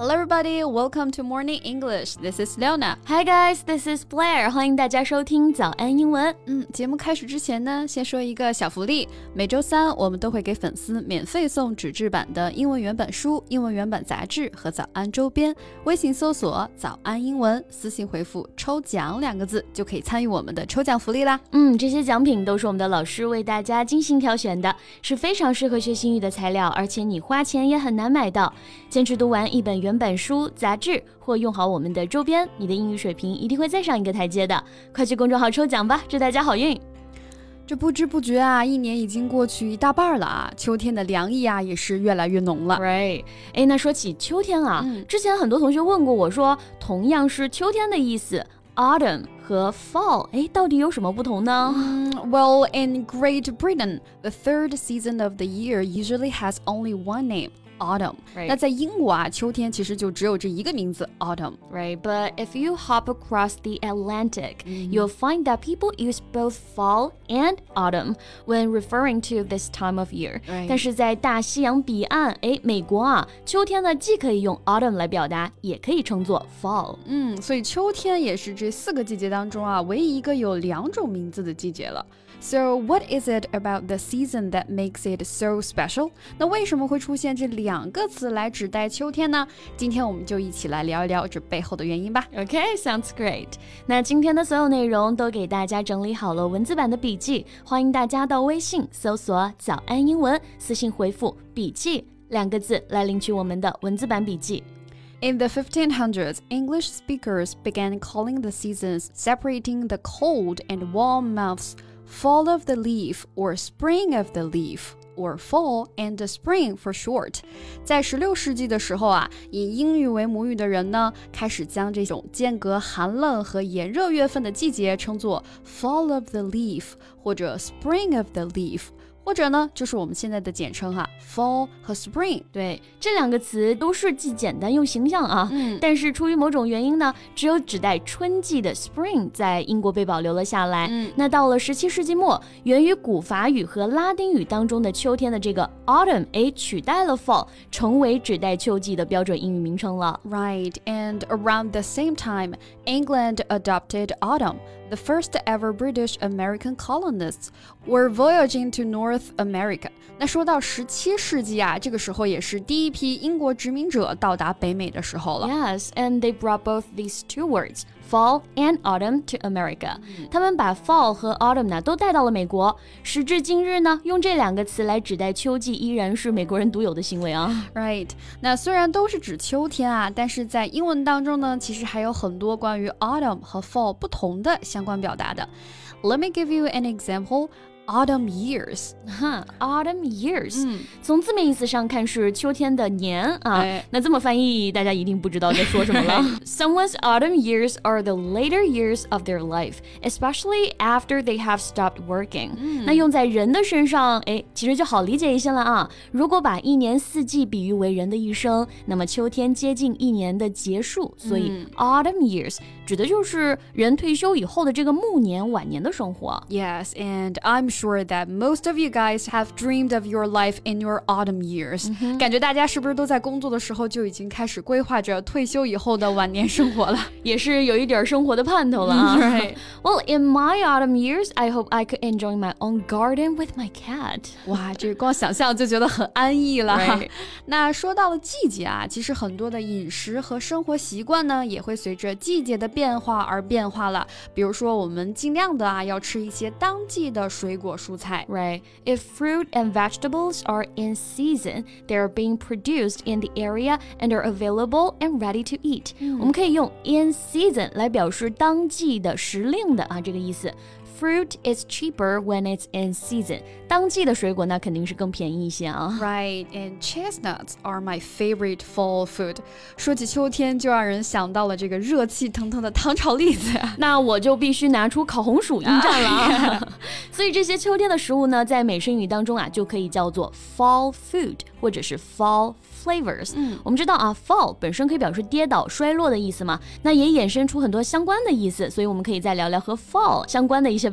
Hello everybody, welcome to Morning English. This is Leona. Hi guys, this is Blair. 欢迎大家收听早安英文。 节目开始之前呢，先说一个小福利。每周三我们都会给粉丝免费送纸质版的英文原版书、英文原版杂志和早安周边。微信搜索早安英文，私信回复抽奖2个字就可以参与我们的抽奖福利啦。 这些奖品都是我们的老师为大家精心挑选的，是非常适合学习英语的材料，而且你花钱也很难买到。坚持读完一本原版书、杂志或用好我们的周边，你的英语水平一定会再上一个台阶的。快去公众号抽奖吧，祝大家好运！ 这不知不觉啊，一年已经过去一大半了啊，秋天的凉意啊也是越来越浓了。 Right， 那说起秋天啊，之前很多同学问过我说，同样是秋天的意思 ，autumn 和 fall， 到底有什么不同呢 ？Well, in Great Britain, the third season of the year usually has only one name.Autumn. Right. 那在英国啊，秋天其实就只有这一个名字 Autumn. Right, but if you hop across the Atlantic, you'll find that people use both fall and autumn when referring to this time of year. Right. 但是在大西洋彼岸，美国啊，秋天呢既可以用 autumn 来表达，也可以称作 fall. 所以秋天也是这4个季节当中啊，唯一一个有2种名字的季节了。So what is it about the season that makes it so special? 那为什么会出现这2个词来指代秋天呢？今天我们就一起来聊一聊这背后的原因吧。 Okay, sounds great. 那今天的所有内容都给大家整理好了文字版的笔记，欢迎大家到微信搜索早安英文，私信回复笔记2个字来领取我们的文字版笔记。 In the 1500s, English speakers began calling the seasons, separating the cold and warm months, fall of the leaf or spring of the leaf.or fall and spring for short. 在16世纪的时候啊，以英语为母语的人呢，开始将这种间隔寒冷和炎热月份的季节称作 fall of the leaf 或者 spring of the leaf。或者呢，就是我们现在的简称fall 和 spring。 对，这2个词都是既简单又形象啊。但是出于某种原因呢，只有指代春季的 spring 在英国被保留了下来。那到了17世纪末，源于古法语和拉丁语当中的秋天的这个 autumn， 取代了 fall， 成为指代秋季的标准英语名称了。 Right, and around the same time, England adopted autumn.The first ever British American colonists were voyaging to North America. 那说到17世纪啊，这个时候也是第一批英国殖民者到达北美的时候了。 Yes, and they brought both these two words, fall and autumn, to America. 他们把 fall 和 autumn 呢都带到了美国。时至今日呢，用这2个词来指代秋季依然是美国人独有的行为啊。 Right. 那虽然都是指秋天啊，但是在英文当中呢，其实还有很多关于 autumn 和 fall 不同的相关表达的。Let me give you an example.Autumn years. Autumn years. 从字面意思上看是秋天的年啊。那这么翻译大家一定不知道在说什么了。Someone's autumn years are the later years of their life, especially after they have stopped working. 那用在人的身上，其实就好理解一些了啊。如果把1年4季比喻为人的一生，那么秋天接近1年的结束，所以autumn years 指的就是人退休以后的这个暮年晚年的生活。 Yes, and I'm sure that most of you guys have dreamed of your life in your autumn years. 感觉大家是不是都在工作的时候就已经开始规划着退休以后的晚年生活了？ 也是有一点生活的盼头了啊。 Right. Well, in my autumn years, I hope I could enjoy my own garden with my cat. 哇，这光想象就觉得很安逸了。 Right. 那说到了季节啊，其实很多的饮食和生活习惯呢，也会随着季节的变化而变化了。比如说，我们尽量的要吃一些当季的水果蔬菜。 Right. If fruit and vegetables are in season, they are being produced in the area and are available and ready to eat. 我们可以用 in season 来表示当季的时令的这个意思。Fruit is cheaper when it's in season. 当季的水果那肯定是更便宜一些啊。 Right, and chestnuts are my favorite fall food. 说起秋天，就让人想到了这个热气腾腾的糖炒栗子。 那我就必须拿出烤红薯应战了啊。所以这些秋天的食物呢，在美式英语当中就可以叫做 fall food 或者是 fall flavors。我们知道fall 本身可以表示跌倒、衰落的意思嘛，那也衍生出很多相关的意思，所以我们可以再聊聊和 fall 相关的一些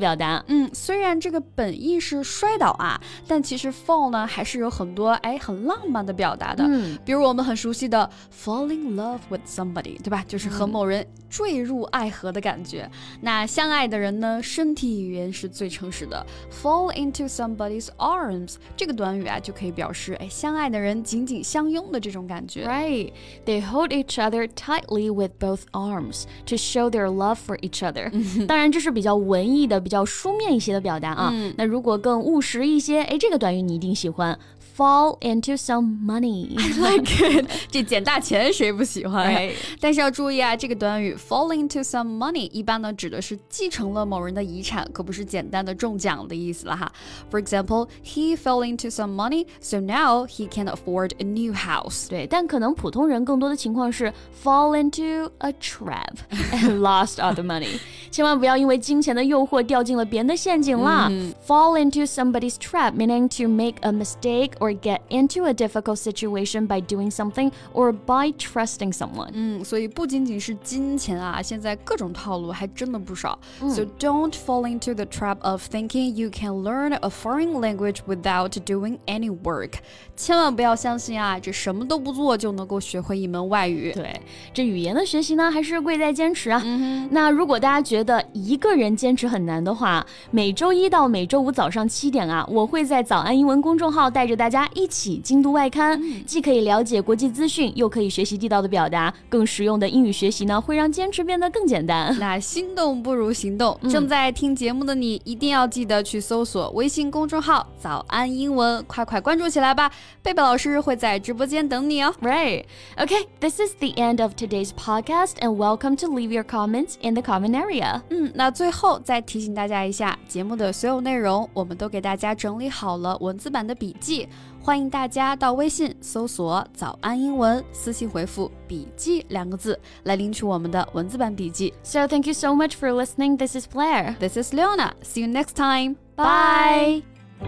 表达。 虽然这个本意是摔倒啊，但其实 fall 呢还是有很多很浪漫的表达的。比如我们很熟悉的 fall in love with somebody， 对吧？就是和某人坠入爱河的感觉。那相爱的人呢，身体语言是最诚实的 fall into somebody's arms 这个短语啊就可以表示相爱的人紧紧相拥的这种感觉。 Right, they hold each other tightly with both arms to show their love for each other. 当然这是比较文艺的比较书面一些的表达啊。那如果更务实一些，这个短语你一定喜欢 fall into some money. I like it. 这捡大钱谁不喜欢？ Right. 但是要注意啊，这个短语 fall into some money 一般呢指的是继承了某人的遗产，可不是简单的中奖的意思了哈。For example, he fell into some money, so now he can afford a new house. 对，但可能普通人更多的情况是 fall into a trap and lost all the money. 千万不要因为金钱的诱惑掉进了别人的陷阱啦。Fall into somebody's trap meaning to make a mistake or get into a difficult situation by doing something or by trusting someone. 所以不仅仅是金钱啊，现在各种套路还真的不少。So don't fall into the trap of thinking you can learn a foreign language without doing any work. 千万不要相信啊，这什么都不做就能够学会一门外语。 对，这语言的学习呢，还是贵在坚持啊。那如果大家觉得一个人坚持很难的话，每周一到每周五早上7点啊，我会在早安英文公众号带着大家一起精读外刊，既可以了解国际资讯，又可以学习地道的表达，更实用的英语学习呢，会让坚持变得更简单。 那心动不如行动，正在听节目的你一定要记得去搜索微信公众号早安英文，快快关注起来吧，贝贝老师会在直播间等你哦。 Right. Okay, this is the end of today's podcast and welcome to leave your comments in the comment area. 那最后再提醒大家一下，节目的所有内容我们都给大家整理好了文字版的笔记，欢迎大家到微信搜索早安英文，私信回复笔记2个字来领取我们的文字版笔记。 So thank you so much for listening. This is Blair. This is Leona. See you next time. Bye.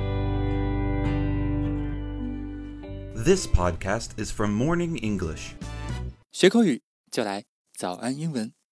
This podcast is from Morning English. 学口语就来早安英文。